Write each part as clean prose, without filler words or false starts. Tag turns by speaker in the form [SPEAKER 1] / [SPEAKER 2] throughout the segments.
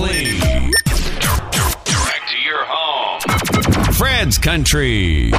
[SPEAKER 1] Directly. Direct to your home. Fred's Country.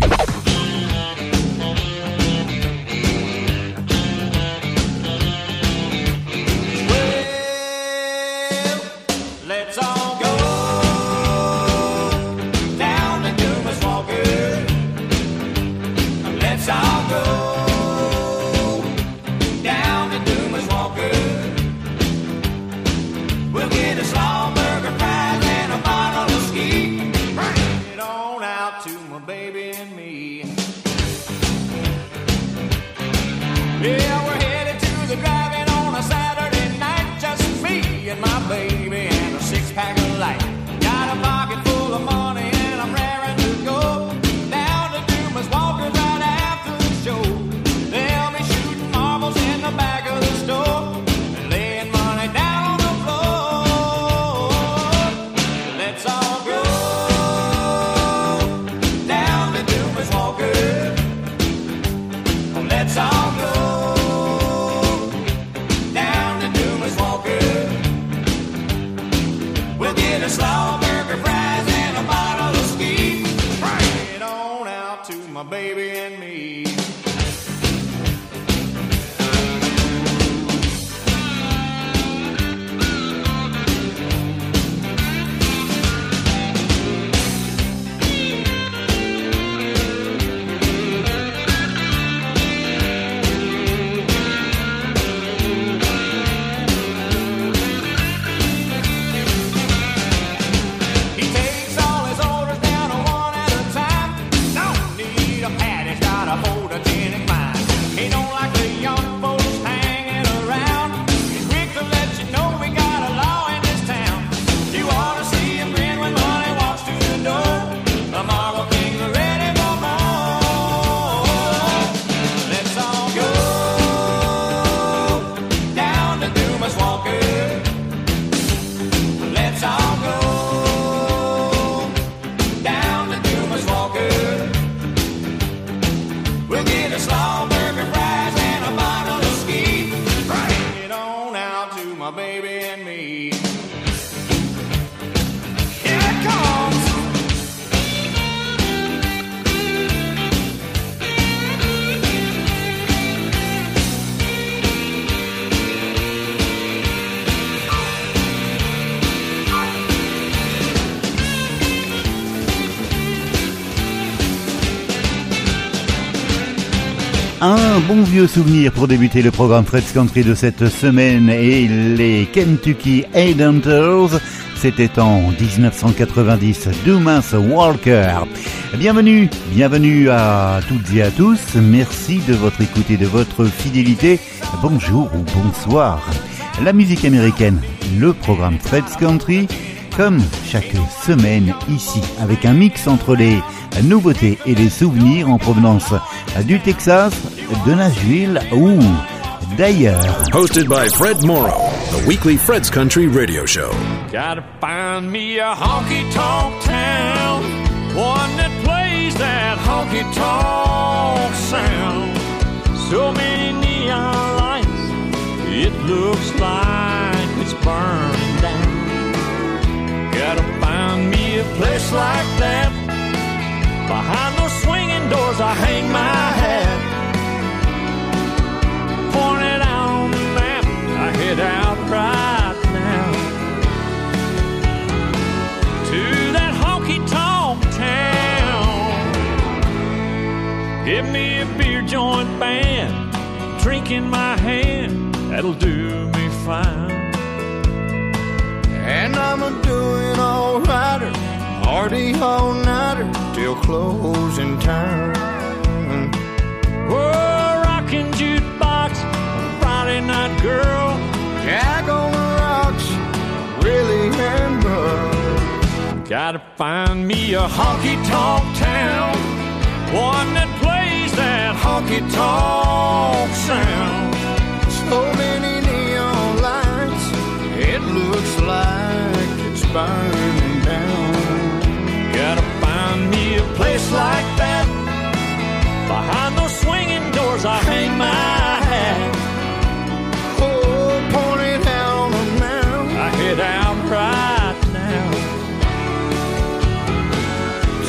[SPEAKER 2] Un bon vieux souvenir pour débuter le programme Fred's Country de cette semaine et les Kentucky Headhunters. C'était en 1990, Dumas Walker. Bienvenue à toutes et à tous. Merci de votre écoute et de votre fidélité. Bonjour ou bonsoir. La musique américaine, le programme Fred's Country, comme chaque semaine ici, avec un mix entre les nouveautés et les souvenirs en provenance du Texas, de Nashville ou d'ailleurs.
[SPEAKER 3] Hosted by Fred Morrow, the weekly Fred's Country radio show.
[SPEAKER 4] Gotta find me a honky-tonk town, one that plays that honky-tonk sound. So many neon lights, it looks like it's burning down. Gotta find me a place like that. Behind those swinging doors I hang my hat. Point it out on the map, I head out right now to that honky-tonk town. Give me a beer joint band, drink in my hand, that'll do me fine.
[SPEAKER 5] And I'm a-doing all-righter, party all-nighter till closing time.
[SPEAKER 4] Whoa, rockin' jukebox, Friday night girl,
[SPEAKER 5] Jack on the rocks, really and rough.
[SPEAKER 4] Gotta find me a honky-tonk town, one that plays that honky-tonk sound.
[SPEAKER 5] So many neon lights, it looks like it's burning down.
[SPEAKER 4] Gotta find me a place like that. Behind those swinging doors I hang my hat.
[SPEAKER 5] Oh, point it out on the mound,
[SPEAKER 4] I head out right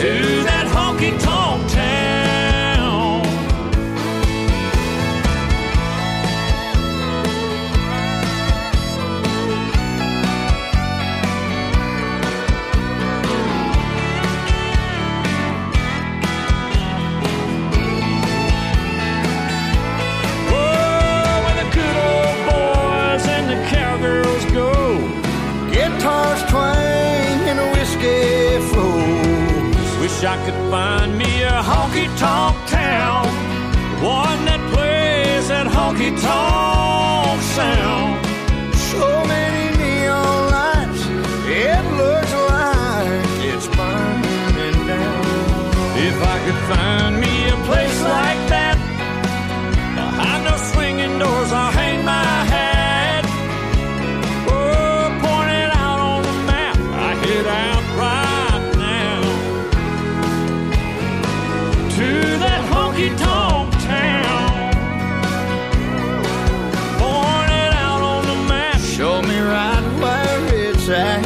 [SPEAKER 4] to that honky-tonk town. Oh, where the good old boys and the cowgirls go,
[SPEAKER 5] Guitars twang and a whiskey flows.
[SPEAKER 4] wish I could find me a honky-tonk town, one that plays that honky-tonk sound.
[SPEAKER 5] So many neon lights, it looks like it's burning down.
[SPEAKER 4] If I could find me a place like that, behind those swinging doors I'll hang my hat. Oh, point it out on the map, I head out right now to that honky-tonk town. Point it out on the map,
[SPEAKER 5] Show me right where it's at.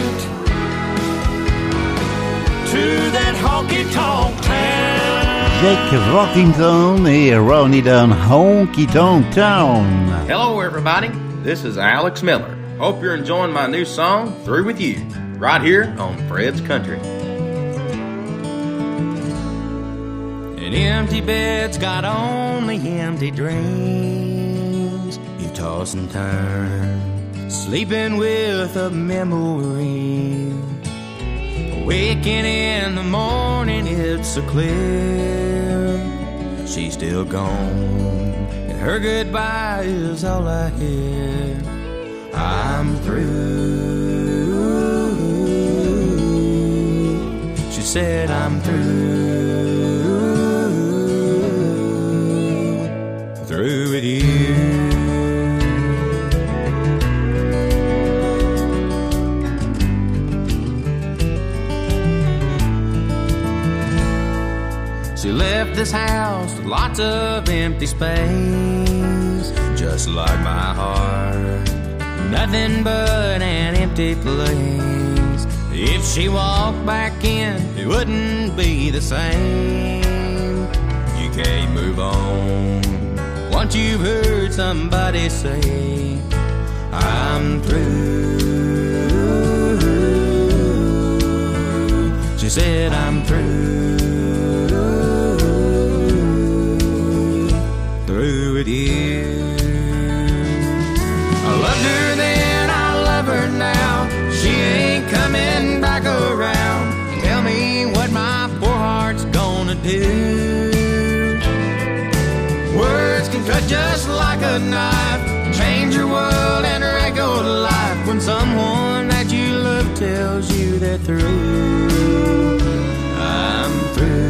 [SPEAKER 4] to that honky-tonk town.
[SPEAKER 2] Jack Rockington et Ronnie Dunn, Honky Tonk Town.
[SPEAKER 6] Hello, everybody. This is Alex Miller. Hope you're enjoying my new song, Through With You, right here on Fred's Country.
[SPEAKER 7] An empty bed's got only empty dreams. You toss and turn, sleeping with a memory. Waking in the morning, it's so clear she's still gone, and her goodbye is all I hear. I'm through. She said I'm through with you. She left this house with lots of empty space, just like my heart, nothing but an empty place. If she walked back in, it wouldn't be the same. You can't move on once you've heard somebody say, I'm through. She said, I'm through. With you. I loved her then, I love her now. She ain't coming back around. Tell me what my poor heart's gonna do. Words can cut just like a knife, change your world and wreck your life. When someone that you love tells you they're through, I'm through.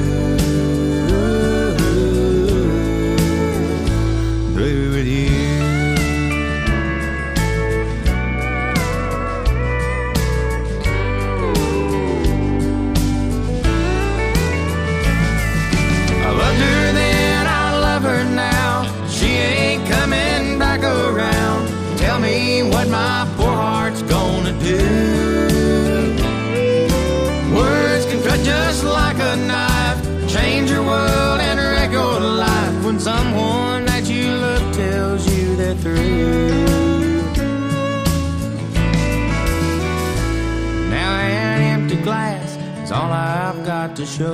[SPEAKER 7] Tell me what my poor heart's gonna do. Words can cut just like a knife, change your world and wreck your life. When someone that you love tells you they're through. Now an empty glass is all I've got to show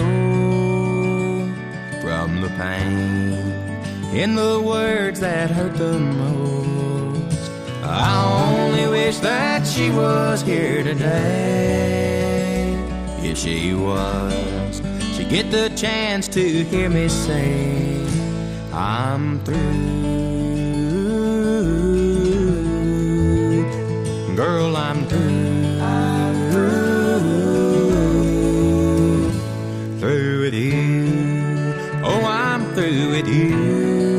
[SPEAKER 7] from the pain in the words that hurt the most. I only wish that she was here today. If she was, she'd get the chance to hear me say, I'm through. Girl, I'm through. Through with you. Oh, I'm through with you.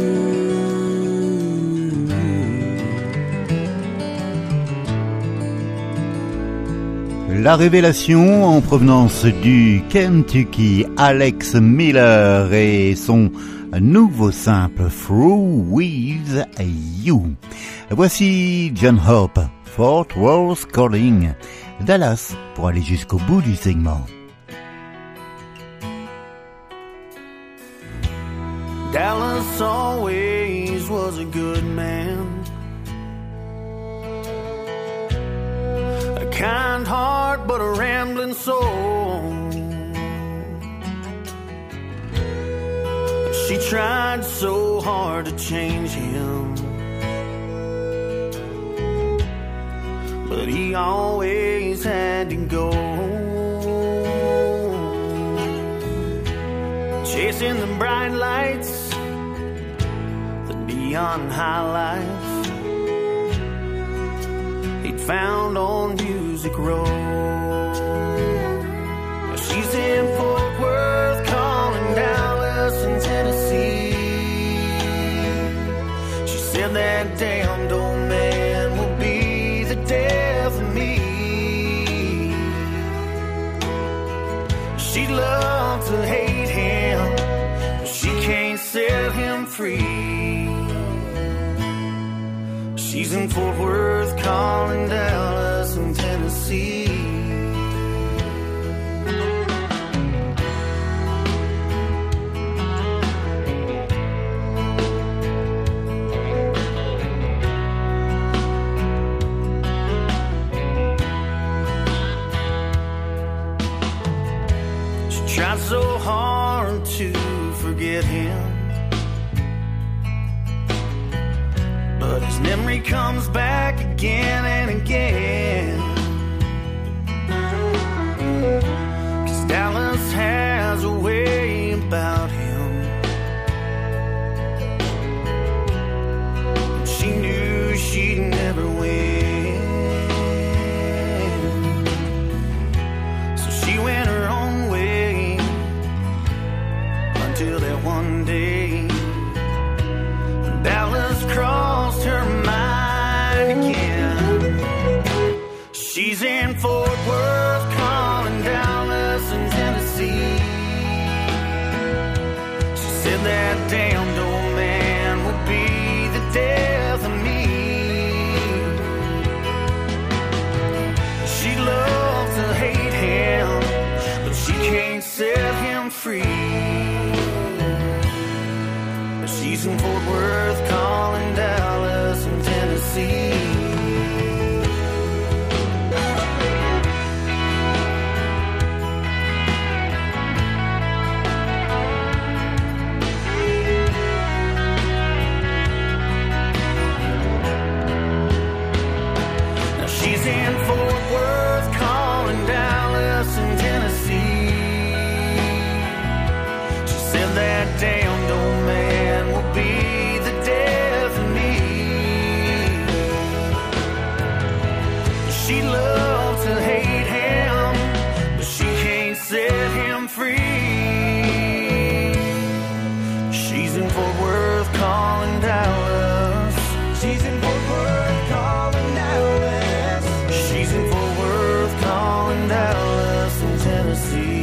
[SPEAKER 2] La révélation en provenance du Kentucky, Alex Miller et son nouveau simple Through With You. Voici John Hope, Fort Worth Calling, Dallas, pour aller jusqu'au bout du segment.
[SPEAKER 5] Dallas always was a good man, a kind heart but a rambling soul. She tried so hard to change him, but he always had to go. Chasing the bright lights, the neon highlights he'd found on Music Row. She's in Fort Worth, calling Dallas and Tennessee. She said that damned old man will be the death of me. She'd love to hate him, but she can't set him free. She's in Fort Worth, calling Dallas and Tennessee. Tried so hard to forget him, but his memory comes back again and again. 'Cause Dallas has a way about him. She knew she'd never win, so she went her own way until that one day Dallas crossed her mind again. She's in Fort Worth, calling Dallas and Tennessee. She said that damned old man would be the death of me. She'd love to hate him, but she can't set him free. She's in Fort Worth, calling Dallas and Tennessee. Now she's in Fort Worth, calling Dallas and Tennessee. She said that damned old man will be the death of me. She loves to hate him, but she can't set him free. She's in Fort Worth, calling Dallas. She's in Fort Worth, calling Dallas. She's in Fort Worth, calling Dallas and Tennessee.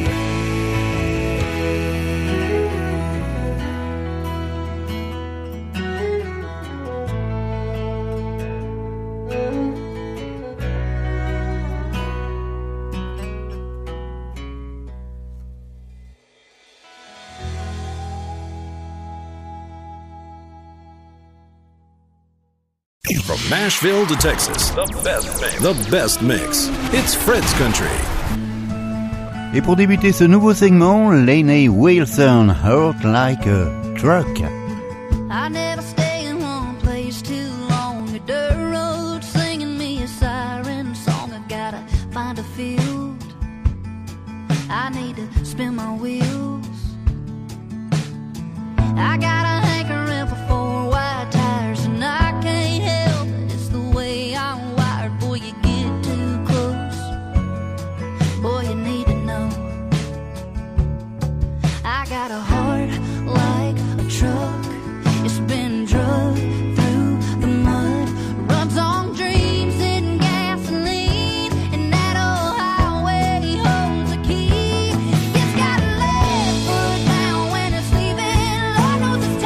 [SPEAKER 3] From Nashville to Texas, the best mix. The best mix. It's Fred's Country.
[SPEAKER 2] Et pour débuter ce nouveau segment, Lainey Wilson, Hurt Like a Truck.
[SPEAKER 8] I never stay in one place too long. A dirt road singing me a siren song. I gotta find a field. I need to spin my wheels. I got a hankering for 4 wide tires, and I can't help it. It's the way I'm wired. Boy, you get too close. Boy, you need to know. I got a heart like a truck. It's been drugged through the mud. Runs on dreams and gasoline, and that old highway holds the key. It's got a left foot down when it's leaving. Lord knows it's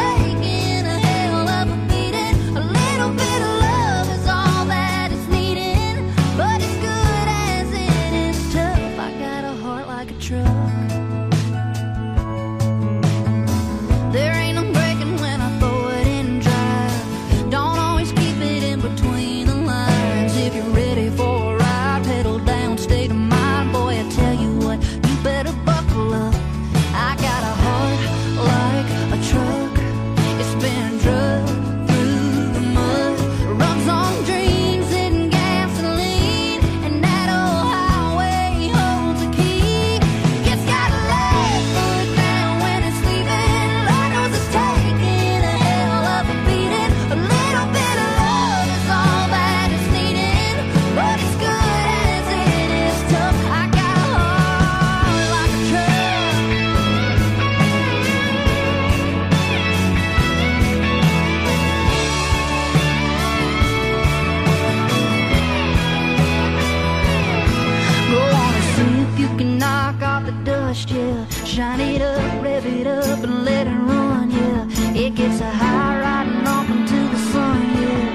[SPEAKER 8] dust, yeah. Shine it up, rev it up, and let it run, yeah. It gets a high riding off into the sun, yeah.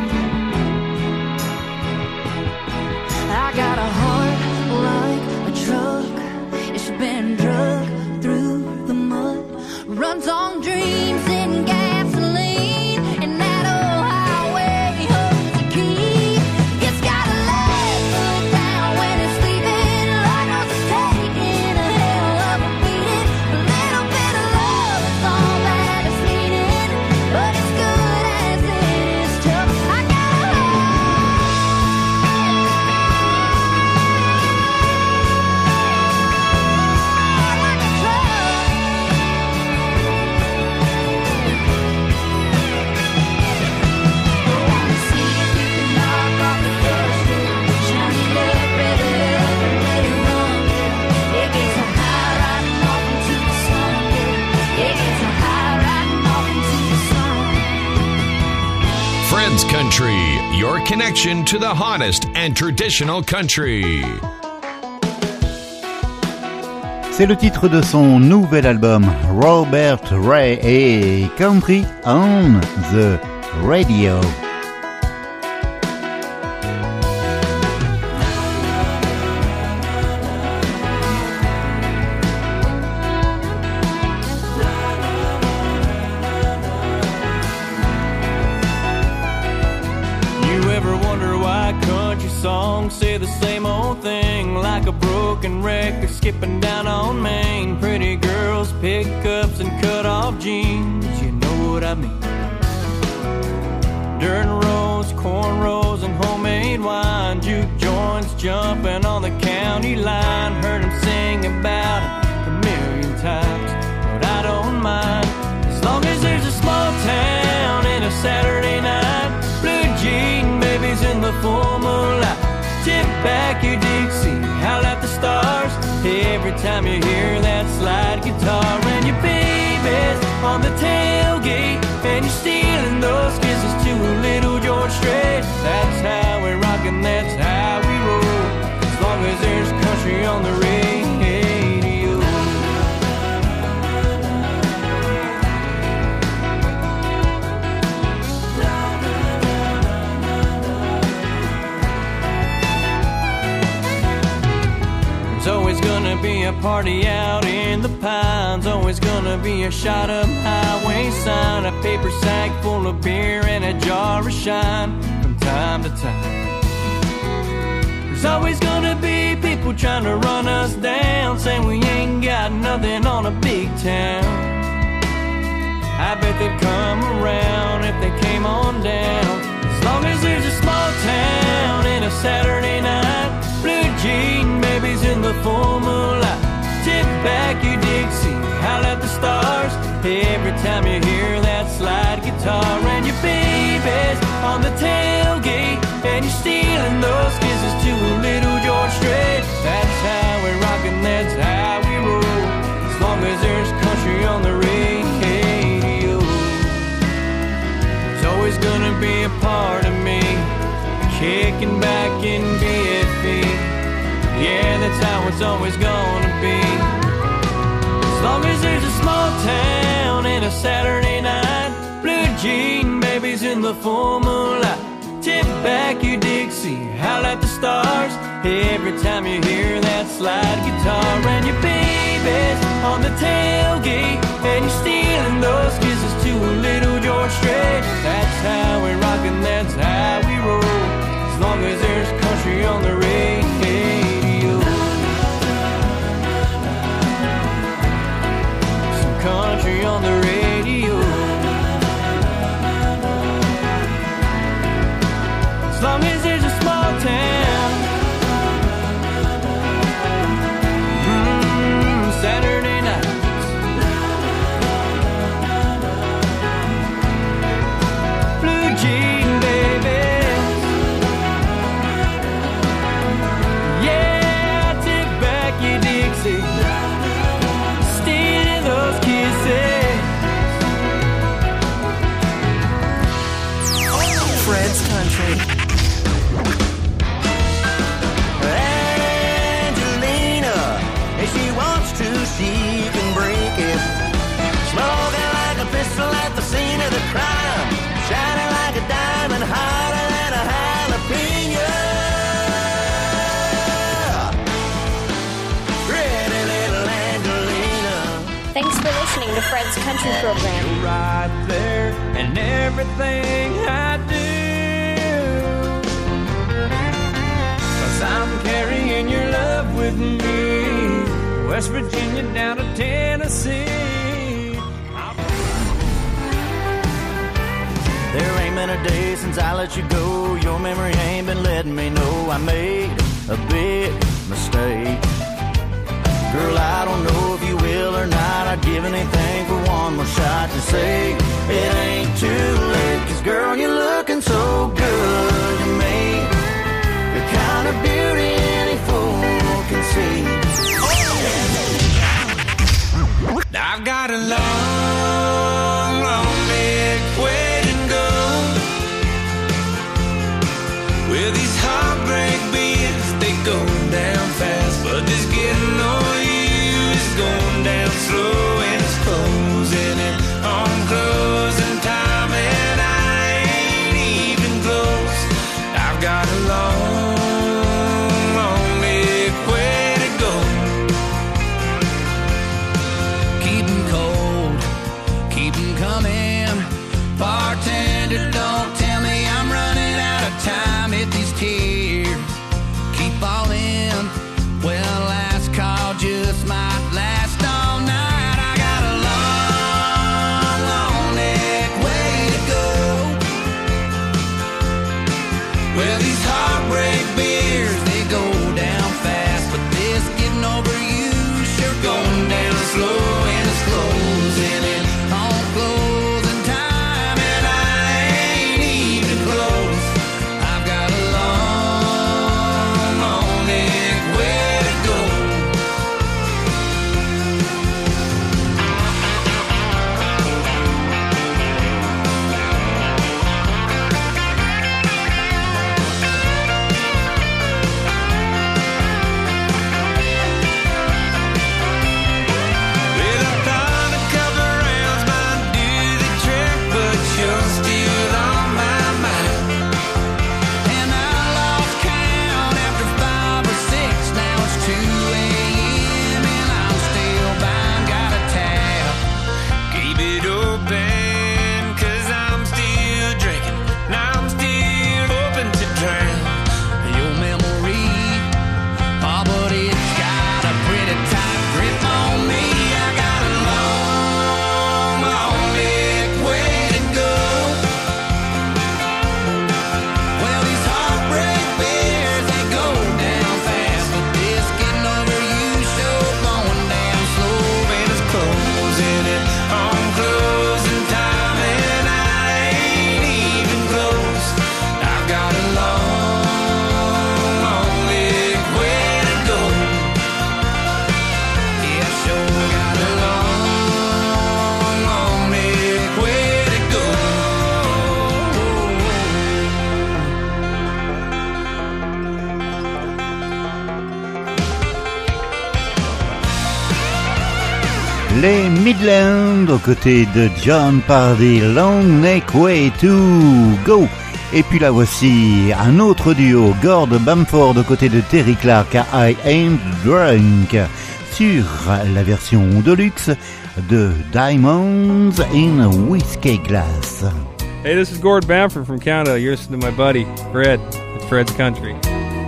[SPEAKER 8] I got a heart like a truck. It's been drugged through the mud. Runs on dreams and gasoline. And that old highway holds the key. It's got a leg foot down when it's sleeping. Lord knows it's taking a hell of a beating. A little bit of love is all that it's needing. But it's good as it is tough. I got a heart like a truck. Wanna see if you can knock off the dust, yeah. Shine it up, rev it up, and let it run, yeah. It gets a high riding off into the sun, yeah. It gets a high riding off into the sun.
[SPEAKER 1] Fred's Country, your connection to the hottest and traditional country.
[SPEAKER 2] C'est le titre de son nouvel album, Robert Ray et Country on the Radio.
[SPEAKER 4] You ever wonder why country songs say the same old thing? Like a broken record skipping down on Main. Pretty girls, pickups, and cut-off jeans. You know what I mean. Dirt roads, cornrows, and homemade wine. Juke joints jumping on the county line. Heard them sing about it a million times, but I don't mind. As long as there's a small town and a Saturday night. Blue jean babies in the full moonlight. Tip back your Dixie, howl at the stars. Every time you hear that slide guitar. And your baby's on the tailgate, and you're stealing those kisses to a little George Strait. That's how we rock and that's how we roll. As long as there's country on the radio. There's always gonna be a party out in the pines. Always gonna be a shot up highway sign. A paper sack full of beer and a jar of shine from time to time. There's always gonna be people trying to run us down, saying we ain't got nothing on a big town. I bet they'd come around if they came on down. As long as there's a small town and a Saturday night. Blue jean babies in the full moonlight. Tip back your Dixie, howl at the stars. Every time you hear that slide guitar. And your baby's on the tailgate, and you're stealing those kisses to a little George Strait. That's how we rock and that's how we roll. As long as there's country on the radio. There's always gonna be a part of me kicking back in BFE. Yeah, that's how it's always gonna be. As long as there's a small town and a Saturday night. Blue jean babies in the full moonlight. Tip back your Dixie, howl at the stars. Every time you hear that slide guitar. And your baby's on the tailgate, and you're stealing those kisses to a little George Strait. That's how we rock and that's how we roll. As long as there's country on the radio. Some country on the radio. As long as there's a small town. Saturday nights.
[SPEAKER 9] Fred's Country program.
[SPEAKER 4] You're right there and everything I do. 'Cause I'm carrying your love with me, West Virginia down to Tennessee.
[SPEAKER 5] There ain't been a day since I let you go. Your memory ain't been letting me know I made a big mistake. Girl, I don't know if you will or not. I'd give anything for one more shot to say it ain't too late. 'Cause girl, you're looking so good to me, the kind of beauty any fool can see.
[SPEAKER 7] I've got a long, long big way to go. With these heartbreak beats, they go down fast, but this getting on you is going down slow, and it's closing in on closing time, and I ain't even close. I've got a long, long big way to go. Keep 'em cold, keep 'em coming. Bartender, don't tell me I'm running out of time. If these tears keep falling, well, last call just might last all night. I got a long, long neck way to go. Well, these heartbreak beers, they go down fast, but this getting over you sure going down slow, and it's closing in on closing time, and I ain't even close. I've got a long, long neck way to go. Well, I thought a couple rounds might do the trick, but you're still on my mind. And I lost count after 5 or 6. Now it's 2 a.m. and I'm still bound. Got a tab, keep it open, 'cause I'm still drinking. Now I'm still open to drown your memory. Oh, but it's got a pretty tight grip on me. I got a long, long big way to go. Well, these heartbreak beers, they go down fast, but this getting over you sure going down slow, and it's closing in on closing time, and I ain't even close. I've got a long, long big way to go. Yeah, sure got a long, long big way to go.
[SPEAKER 2] Les Midlands aux côtés de John Pardy, Long Neck Way to Go. Et puis là voici un autre duo, Gord Bamford aux côtés de Terry Clark, I Ain't Drunk, sur la version deluxe de Diamonds in Whiskey Glass.
[SPEAKER 10] Hey, this is Gord Bamford from Canada. You're listening to my buddy, Fred, at Fred's Country.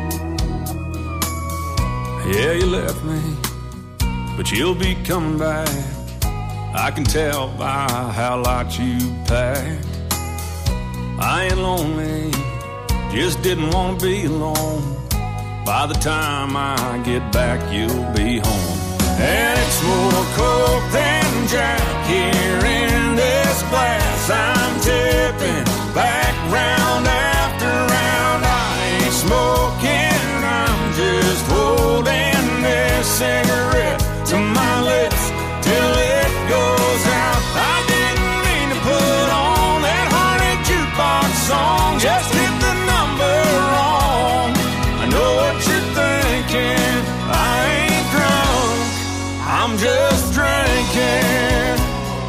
[SPEAKER 3] Yeah, you left me, but you'll be coming back. I can tell by how light you packed. I ain't lonely, just didn't want to be alone. By the time I get back, you'll be home. And it's more coke than Jack here in this glass. I'm tipping back round after round. I ain't smoking, I'm just holding this cigarette to my lips till it goes out. I didn't mean to put on that honey jukebox song, just hit the number wrong. I know what you're thinking, I ain't drunk, I'm just drinking.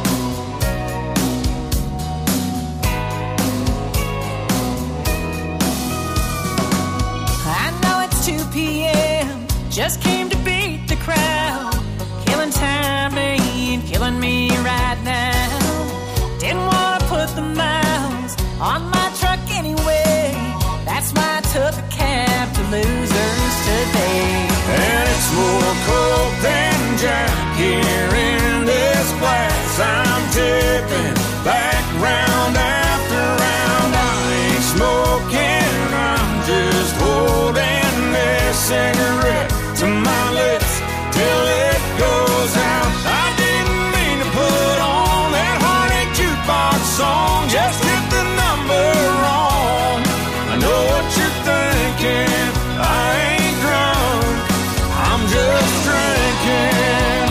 [SPEAKER 11] I know it's 2 p.m., just came to beat the crowd, killing time ain't
[SPEAKER 9] pain killing me right now. Didn't want to put the miles on my truck anyway. That's why I took a cab to Losers today.
[SPEAKER 3] And it's more coke than Jack here in this glass. I'm tipping back round after round. I ain't smoking, I'm just holding this cigarette to my lips till it goes out. I didn't mean to put on that heartache jukebox song, just hit the number wrong. I know what you're thinking, I ain't drunk, I'm just drinking.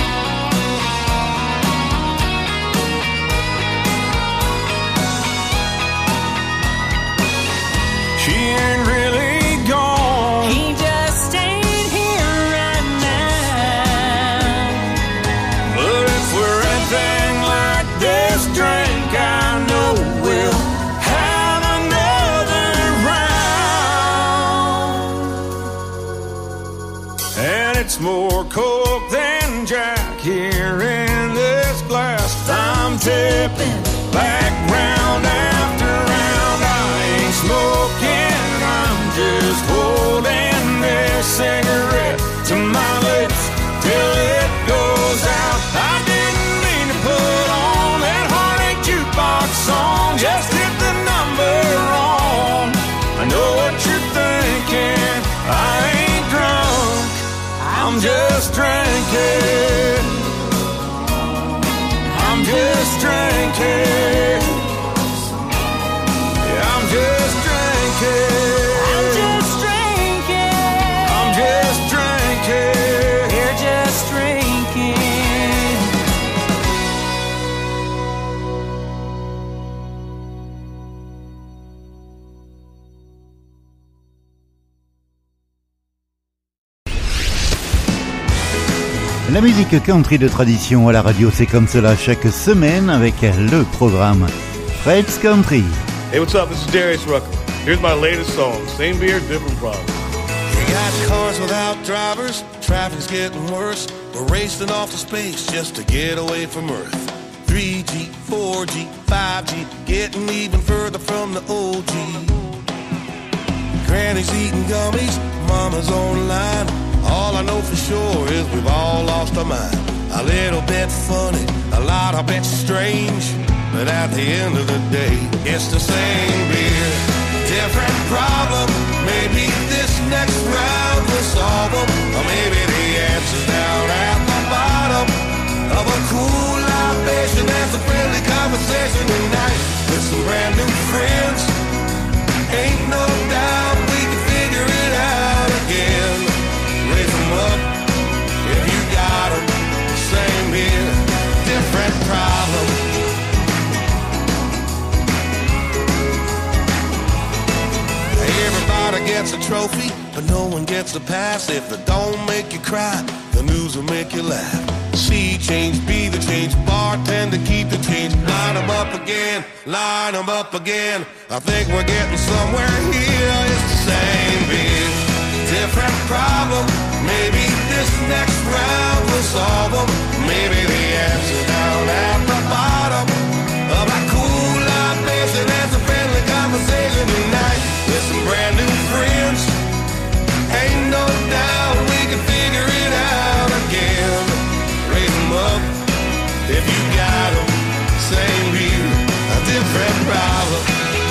[SPEAKER 3] She ain't really gone.
[SPEAKER 9] He just stayed here right now.
[SPEAKER 3] But if we're anything like this drink, I know we'll have another round. And it's more coke than Jack here in this glass. I'm tipping back round after round. I ain't smoking, I'm just holding this cigarette to my lips till it goes out. I didn't mean to put on that heartache jukebox song, just hit the number wrong. I know what you're thinking, I ain't drunk, I'm just drinking. I'm just drinking. Yeah, I'm just drinking.
[SPEAKER 9] I'm just drinking.
[SPEAKER 3] I'm just drinking.
[SPEAKER 9] We're just drinking.
[SPEAKER 2] La musique country de tradition à la radio, c'est comme cela chaque semaine avec le programme Fred's Country.
[SPEAKER 11] Hey, what's up? This is Darius Rucker. Here's my latest song, Same Beer, Different Problem.
[SPEAKER 12] We got cars without drivers, traffic's getting worse. We're racing off to space just to get away from Earth. 3G, 4G, 5G, getting even further from the OG. Granny's eating gummies, mama's online. All I know for sure is we've all lost our mind. A little bit funny, a lot of bit strange, but at the end of the day, it's the same beer, different problem. Maybe this next round will solve them, or maybe the answer's down at the bottom of a cool libation. There's a friendly conversation tonight with some brand new friends. Ain't no doubt we can figure it out again. Raise them up if you got them. Same beer, different problem. Everybody gets a trophy, but no one gets a pass. If it don't make you cry, the news will make you laugh. See change, be the change, bartender keep the change. Line them up again, line them up again. I think we're getting somewhere here. It's the same beer, different problem. Maybe this next round will solve them. Maybe the answer down at the bottom of a cool libation. There's a friendly conversation tonight with some brand new friends. Ain't no doubt we can figure it out again. Raise them up if you got them. Same beer, a different problem.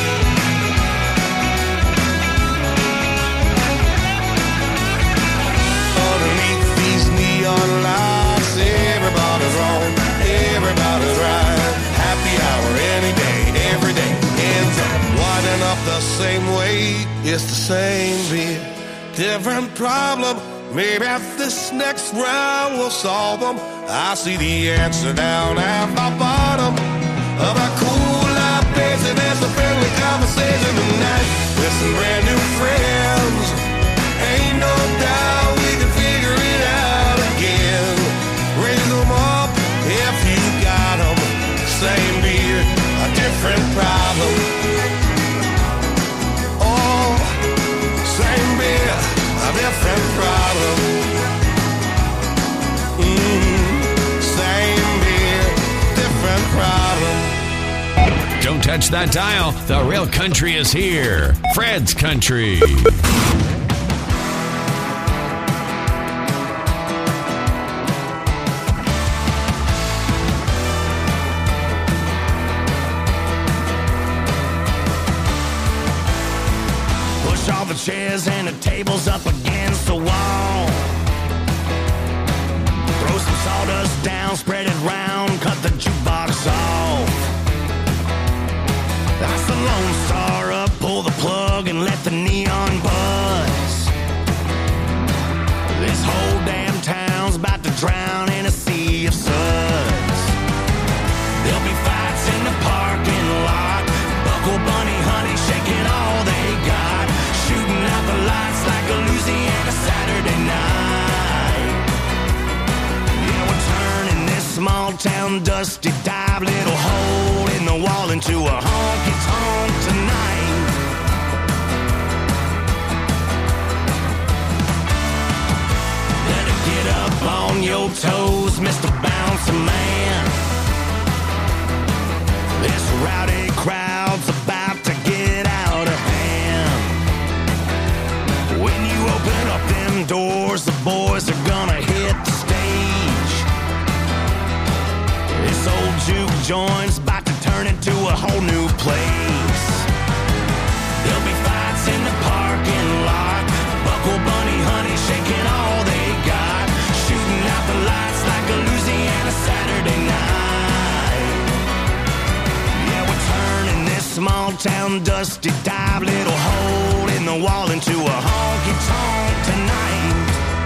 [SPEAKER 12] Underneath these neon lights, everybody's wrong, everybody's right. Happy hour any day, every day ends up winding up the same way. It's the same beer, different problem. Maybe this next round will solve them. I see the answer down at the bottom of a cool libation. There's a friendly conversation tonight with some brand new friends. Ain't no doubt we can figure it out again. Raise them up if you got them. Same beer, a different problem. Oh, same beer, a different problem. Same beer,
[SPEAKER 1] touch that dial. The real country is here. Fred's Country.
[SPEAKER 5] Push all the chairs and the tables up against the wall. Throw some sawdust down, spread it round, cut the jukebox off. That's the Lone Star up, pull the plug and let the neon buzz. This whole damn town's about to drown in a sea of suds. There'll be fights in the parking lot, Buckle Bunny honey shaking all they got, shooting out the lights like a Louisiana Saturday night. Yeah, we're turning this small town dusty dive little hole in the wall into a honky-tonk tonight. Better get up on your toes, Mr. Bouncer Man. This rowdy crowd's about to get out of hand. When you open up them doors, the boys are gonna hit the stage. This old juke joint's about to turn into a whole new place. There'll be fights in the parking lot, Buckle Bunny honey shaking all they got, shooting out the lights like a Louisiana Saturday night. Yeah, we're turning this small town dusty dive little hole in the wall into a honky-tonk tonight.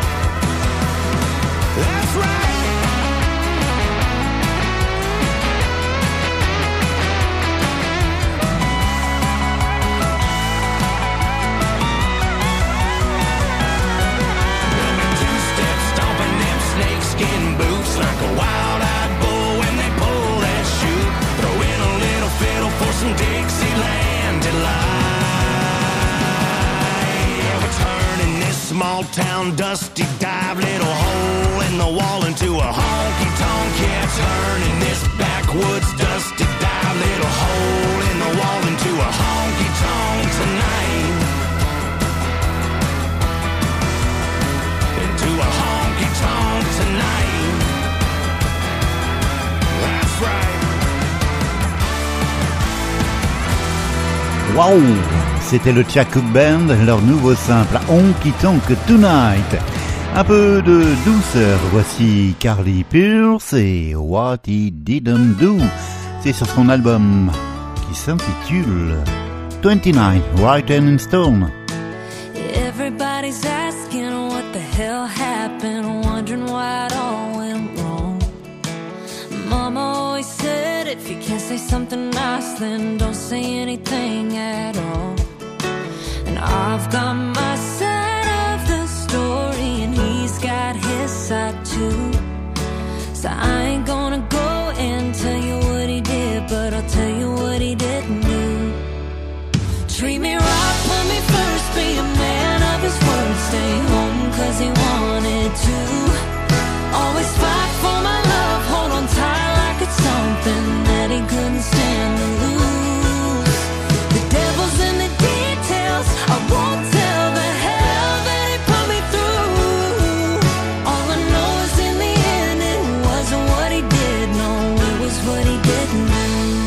[SPEAKER 5] That's right. Snakeskin boots like a wild-eyed bull when they pull that chute. Throw in a little fiddle for some Dixieland delight. Yeah, we're turning this small town dusty dive little hole in the wall into a honky-tonk. Yeah, turning this backwoods dusty dive little hole in the wall into a honky-tonk tonight. Into a honky-tonk tonight. That's right.
[SPEAKER 2] Waouh, c'était le Chuck Cook Band, leur nouveau simple Honky Tonk Tonight. Un peu de douceur, voici Carly Pearce et What He Didn't Do. C'est sur son album qui s'intitule 29, Written in Stone.
[SPEAKER 8] Everybody's asking what the hell happened, wondering why it all went wrong. Mama always said if you can't say something nice, then don't say anything at all. And I've got my side of the story, and he's got his side too. So I ain't gonna go and tell you what he did, but I'll tell you what he didn't do. Treat me right, put me first, be a man of his word, stay home cause he wanted to. Always fight for my love, hold on tight like it's something that he couldn't stand to lose. The devil's in the details, I won't tell the hell that he put me through. All I know is in the end it wasn't what he did, no, it was what he didn't do.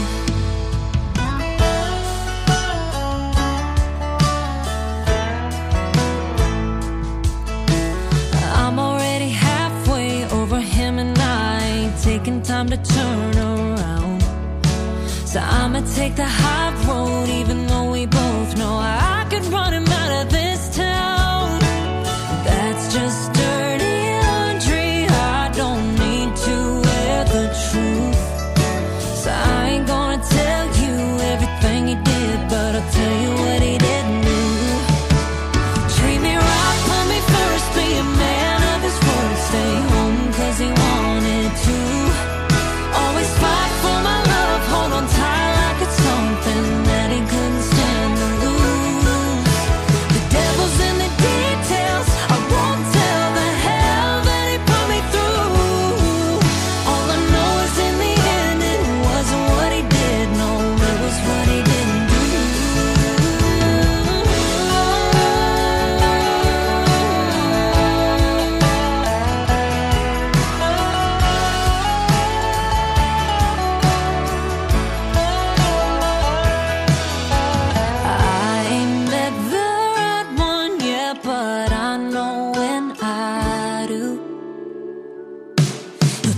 [SPEAKER 8] Taking time to turn around, so I'ma take the high road, even though we both know I could run him out of this town. That's just dirty laundry, I don't need to wear the truth. So I ain't gonna tell you everything he did, but I'll tell you what he didn't do. Treat me right, put me first, be a man of his word, stay home cause he wanted to. Always fight for my love, hold on tight like it's something that he couldn't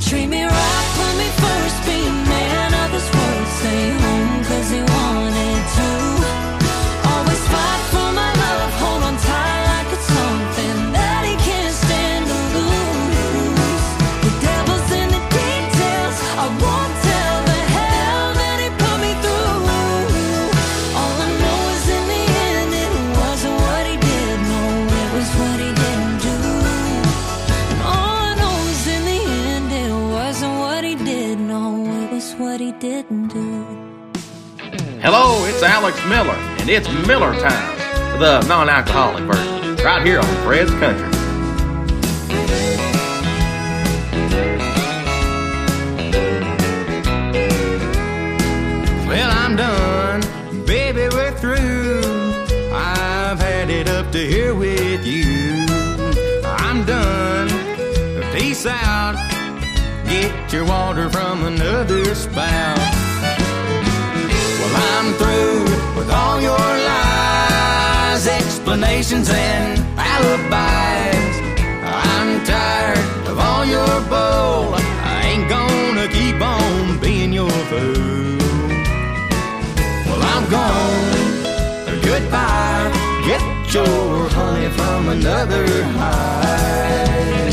[SPEAKER 8] Treat me right, put me first, be a man of this world. Stay home 'cause he wanted to. Always fight for my love, hold on tight like it's something that he can't stand to lose. The devil's in the details, I won't tell the hell that he put me through. All I know is in the end it wasn't what he did, no, it was what he didn't do. And all I know is in the end it wasn't what he did, no, it was what he didn't do.
[SPEAKER 6] Hello, it's Alex Miller, and it's Miller Time, the non-alcoholic version, right here on Fred's Country.
[SPEAKER 7] Well, I'm done, baby, we're through. I've had it up to here with you. I'm done, peace out. Get your water from another spout. Well, I'm through with all your lies, explanations and alibis. I'm tired of all your bull. I ain't gonna keep on being your fool. Well, I'm gone, goodbye. Get your honey from another hive.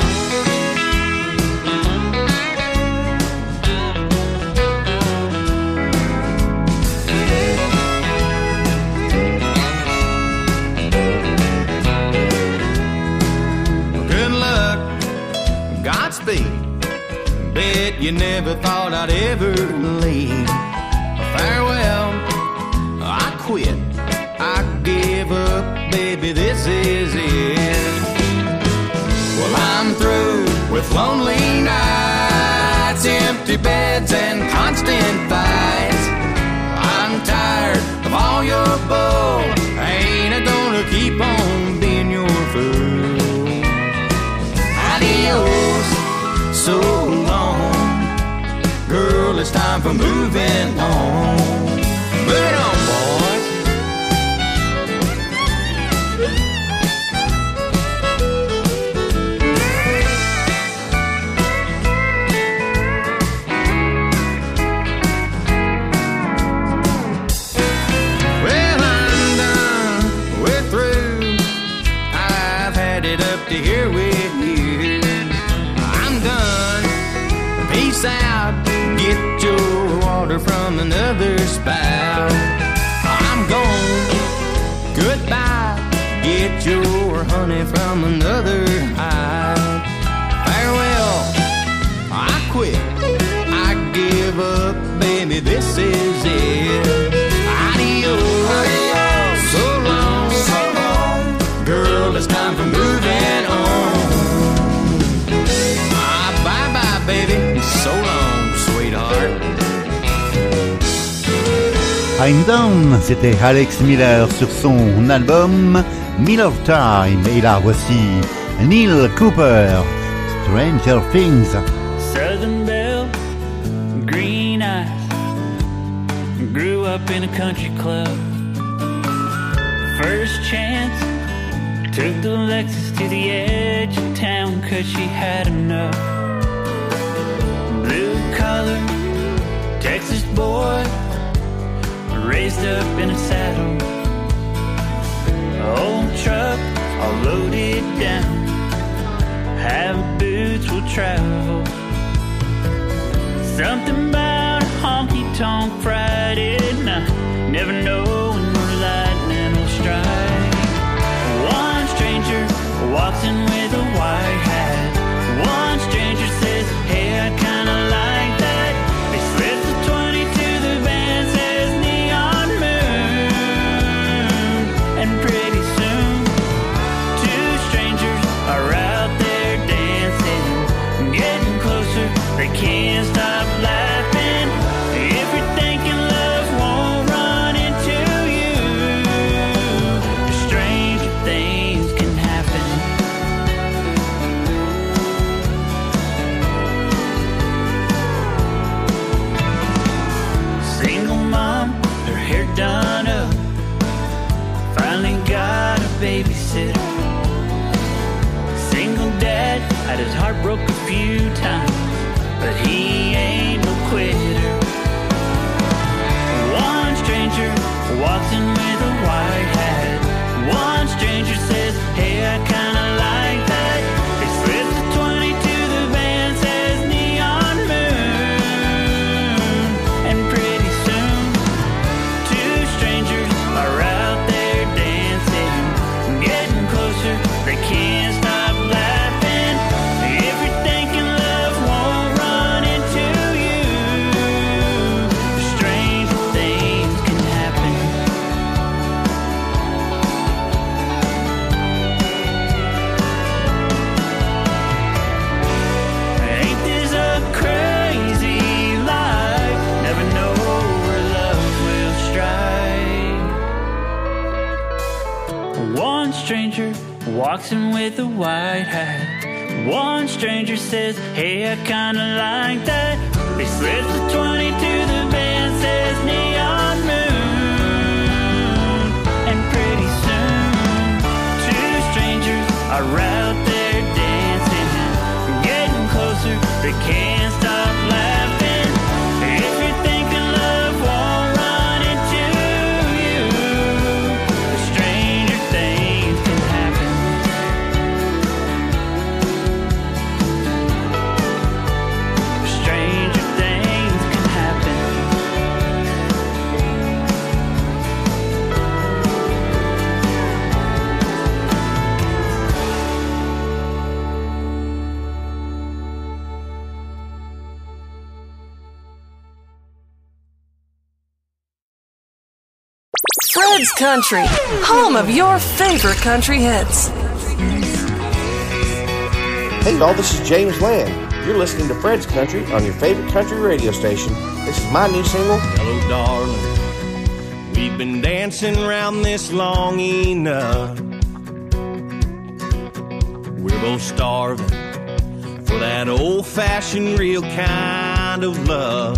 [SPEAKER 7] Bet you never thought I'd ever leave. Farewell, I quit, I give up, baby, this is it. Well, I'm through with lonely nights, empty beds and constant fights. I'm tired of all your bull, ain't I gonna keep on being your fool. Adios, so long, girl, it's time for moving on. Moving on, boys. Well, I'm done, we're through. I've had it up to here with you. Peace out, get your water from another spout. I'm gone, goodbye, get your honey from another hive. Farewell, I quit, I give up, baby, this is it. Adios, adios. So long, girl, it's time for moving on. Bye-bye, baby. So long, sweetheart.
[SPEAKER 2] I'm Down, c'était Alex Miller sur son album Miller Time. Et là, voici Neil Cooper, Stranger Things.
[SPEAKER 13] Southern Belle, green eyes, grew up in a country club. First chance, took the Lexus to the edge of town 'cause she had enough. Blue collar, Texas boy, raised up in a saddle. Old truck, all loaded down, have boots will travel. Something about a honky-tonk Friday night, never know when the lightning will strike. One stranger walks in with a white hat. One stranger says, hey, I'd kinda like that. They slip the 20 to the band, says Neon Moon. And pretty soon, two strangers are out there dancing, getting closer, they can't stop laughing. If you're thinking love won't run into you, strange things can happen. Single mom, her hair done up, finally got a babysitter. Single dad, had his heart broke a few times, but he ain't no quitter. One stranger walks in with a white hat. One stranger says, hey, I kinda like that. He slips the 20 to the band, says neon moon. And pretty soon, two strangers are out there dancing, getting closer, they can't stop laughing. If you're thinking love won't run into you, strange things can happen. Ain't this a crazy life? Never know where love will strike. One stranger walks in with a white hat. One stranger says, hey, I kinda like that. He slips the 20 to the band, says neon moon. And pretty soon, two strangers are out there dancing, getting closer, they can't stop laughing. If you're thinking love won't run into you, stranger things can happen. Stranger things can happen.
[SPEAKER 14] Fred's Country, home of your favorite country hits.
[SPEAKER 15] Hey y'all, this is James Land. You're listening to Fred's Country on your favorite country radio station. This is my new single.
[SPEAKER 5] Hello, darling. We've been dancing around this long enough. We're both starving for that old-fashioned real kind of love.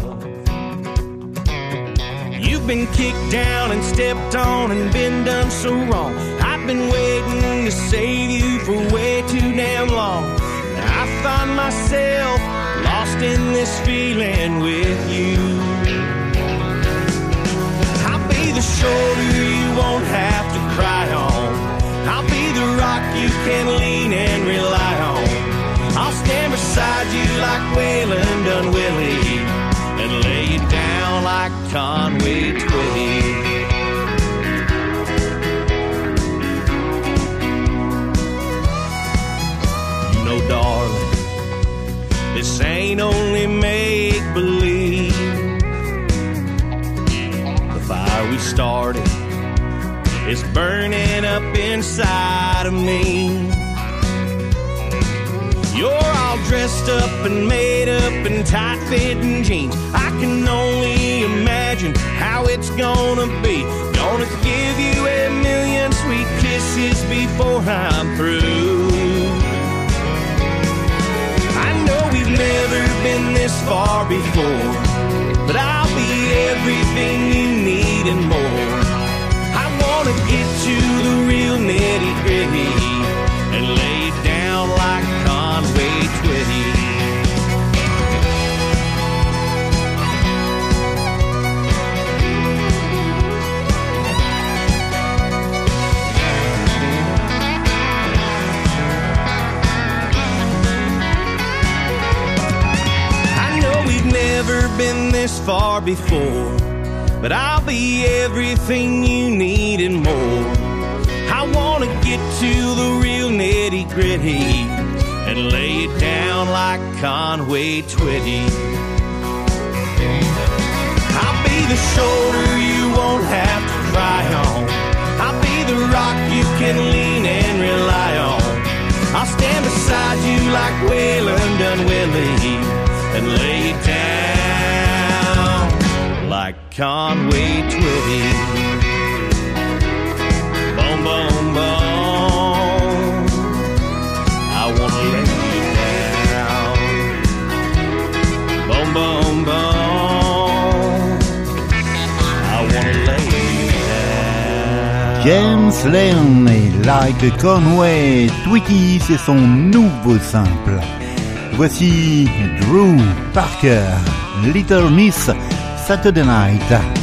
[SPEAKER 5] You've been kicked down and stepped on and been done so wrong. I've been waiting to save you for way too damn long. Now I find myself lost in this feeling with you. I'll be the shoulder you won't have to cry on. I'll be the rock you can lean and rely on. I'll stand beside you like Waylon done Willie, and lay you down like Conway Twitty. You know, darling, this ain't only make-believe. The fire we started is burning up inside of me. You're all dressed up and made up in tight-fitting jeans. I can only imagine how it's gonna be. Gonna give you a million sweet kisses before I'm through. I know we've never been this far before, but I'll be everything you need and more. I wanna get to the real nitty-gritty and lay it down like Conway Twitty. I know we've never been this far before, but I'll be everything you need and more. I wanna get to the real nitty-gritty and lay it down like Conway Twitty. I'll be the shoulder you won't have to cry on. I'll be the rock you can lean and rely on. I'll stand beside you like Waylon done Willie and lay it down like Conway Twitty. Boom, boom, boom. I wanna lay you down. Boom, boom, boom. I wanna lay you down.
[SPEAKER 2] James Lane et Like Conway Twitty, c'est son nouveau simple. Voici Drew Parker, Little Miss Saturday Night.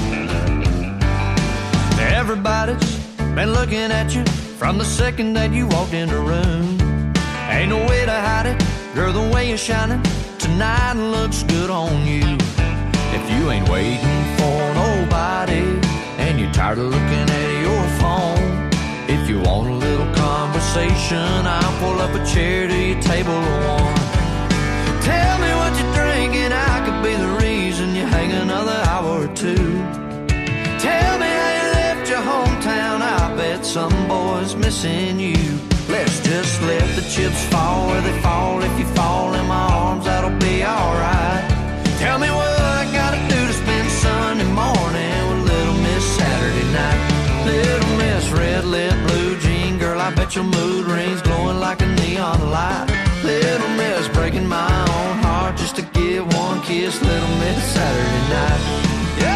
[SPEAKER 16] Everybody's been looking at you from the second that you walked in the room. Ain't no way to hide it, girl, the way you're shining tonight looks good on you. If you ain't waiting for nobody and you're tired of looking at your phone, if you want a little conversation, I'll pull up a chair to your table of one. Tell me what you're drinking, I could be the reason you hang another hour or two. Tell me how you left your hometown, I bet some boy's missing you. Let's just let the chips fall where they fall. If you fall in my arms, that'll be alright. Tell me what I gotta do to spend Sunday morning with Little Miss Saturday night. Little Miss red lip, blue jean, girl, I bet your mood rings glowing like a neon light. Little Miss breaking my own heart just to give one kiss. Little Miss Saturday night. Yep.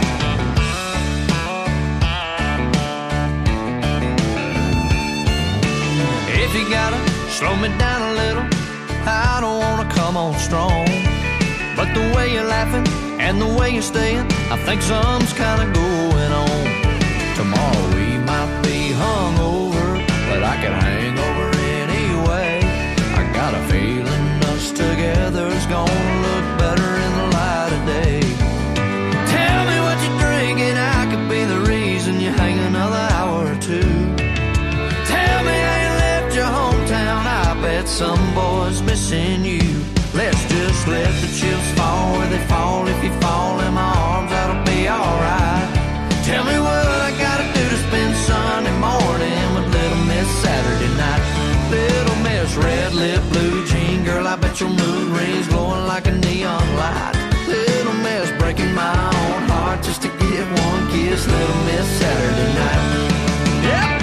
[SPEAKER 16] If you gotta slow me down a little, I don't wanna come on strong. But the way you're laughing and the way you're staying, I think something's kinda going on. Tomorrow we might be hungover, but I can hang over anyway. I got a feeling us together's gonna look better in the light of day. Tell me what you're drinking, I could be the reason you hang another hour or two. Tell me how you left your hometown, I bet some boy's missing you. Let's just let the chips fall where they fall. If you fall in my arms, that'll be alright. Tell me what I gotta do to spend Sunday morning with Little Miss Saturday night. Little Miss red lip, blue jean, girl, I bet your mood rings glowing like a neon light. Little Miss breaking my own heart just to get one kiss. Little Miss Saturday night. Yep.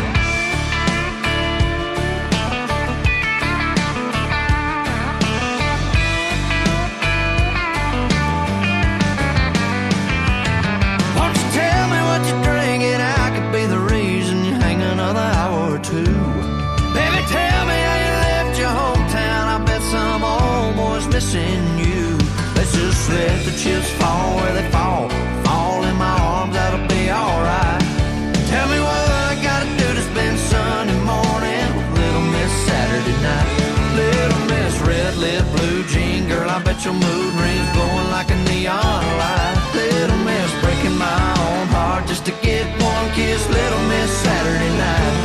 [SPEAKER 16] Missing you. Let's just let the chips fall where they fall. Fall in my arms, that'll be alright. Tell me what I gotta do to spend Sunday morning with Little Miss Saturday night. Little Miss red lip, blue jean, girl, I bet your mood rings glowing like a neon light. Little Miss breaking my own heart just to get one kiss. Little Miss Saturday night.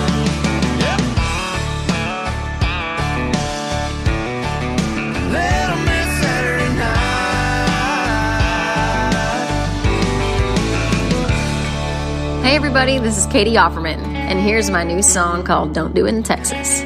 [SPEAKER 17] Hey everybody, this is Katie Offerman, and here's my new song called Don't Do It in Texas.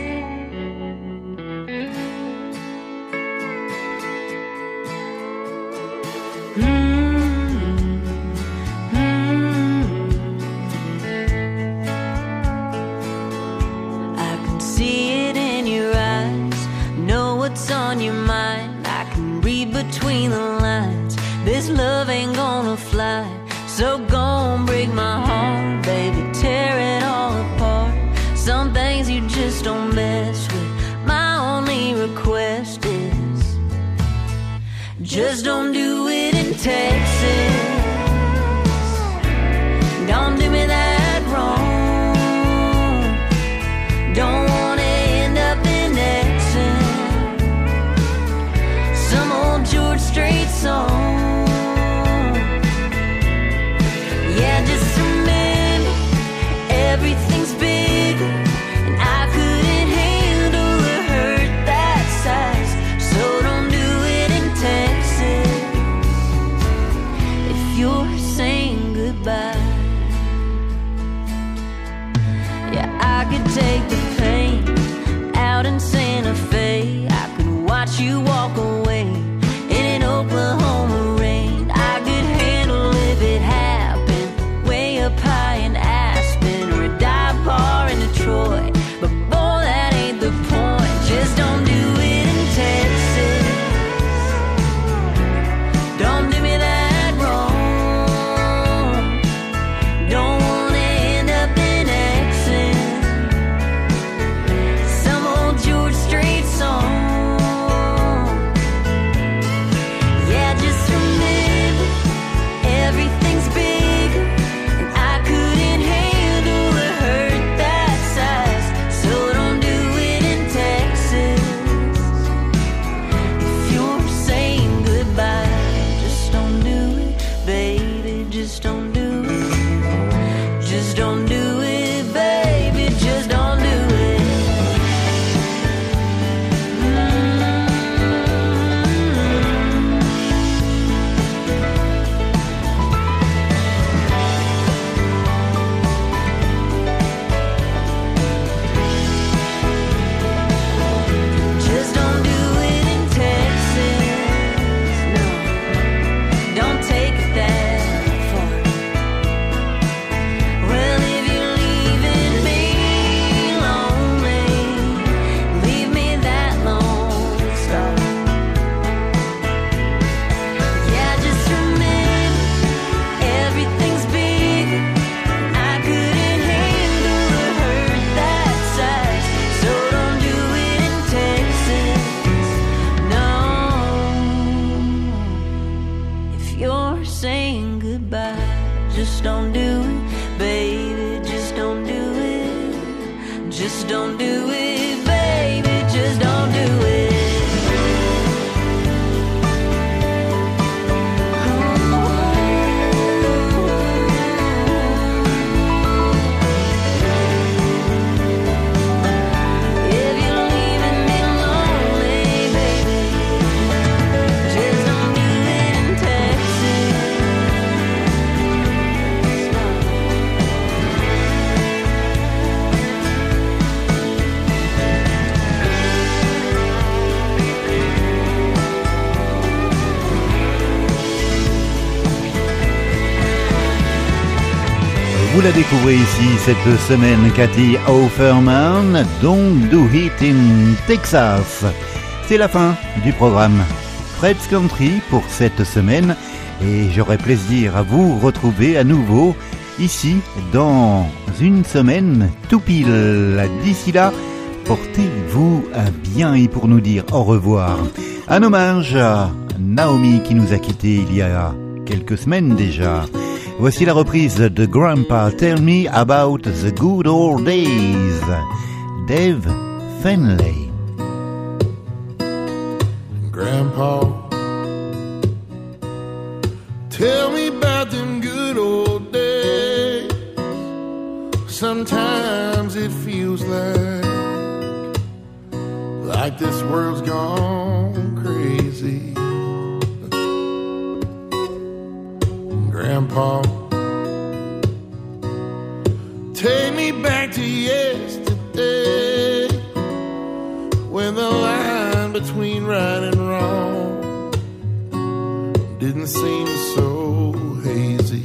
[SPEAKER 18] I can see it in your eyes, know what's on your mind. I can read between the lines, this love ain't gonna fly. So gon' break my heart, baby, tear it all apart. Some things you just don't mess with. My only request is just don't do it in Texas. Don't do me that wrong. Don't wanna end up in Exxon, some old George Strait song. Yeah, just a minute, everything's bigger, and I couldn't handle a hurt that size. So don't do it in Texas. If just don't do it, baby, just don't do it. Just don't do it, baby, just don't do it.
[SPEAKER 2] Vous la découvrez ici cette semaine, Kathy Offerman, Don't Do It in Texas. C'est la fin du programme Fred's Country pour cette semaine et j'aurai plaisir à vous retrouver à nouveau ici dans une semaine tout pile. D'ici là, portez-vous bien et pour nous dire au revoir. Un hommage à Naomi qui nous a quittés il y a quelques semaines déjà. Voici la reprise de Grandpa, Tell Me About the Good Old Days, Dave Finlay.
[SPEAKER 19] Grandpa, tell me about them good old days. Sometimes it feels like this world's gone crazy. Grandpa, take me back to yesterday, when the line between right and wrong didn't seem so hazy.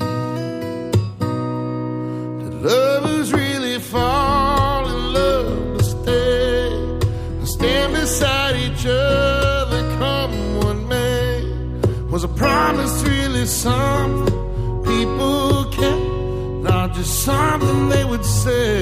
[SPEAKER 19] Did lovers really fall in love to stay and stand beside each other come one May? Was a promise really something people kept, not just something they would say?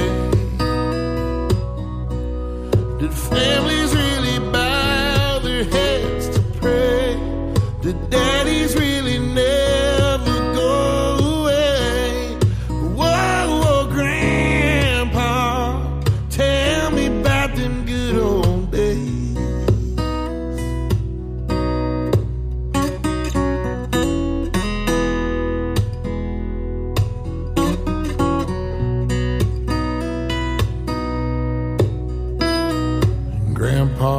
[SPEAKER 19] Did families really bow their heads to pray? Did daddies really never go away? Whoa, whoa, Grandpa, tell me about them good old days. Grandpa,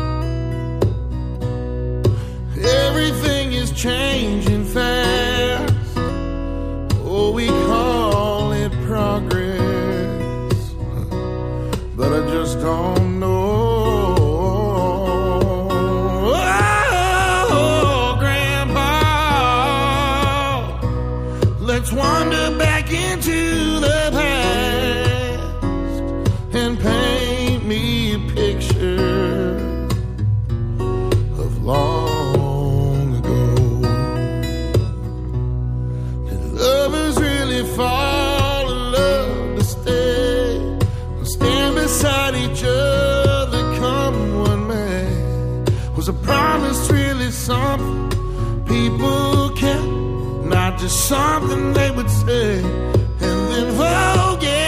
[SPEAKER 19] everything is changing fast. Oh, we call it progress, but I just don't know. Oh, Grandpa, let's wander back into the past and paint me a picture of long ago. Did lovers really fall in love to stay and stand beside each other come one May? Was a promise really something people kept, not just something they would say and then forget?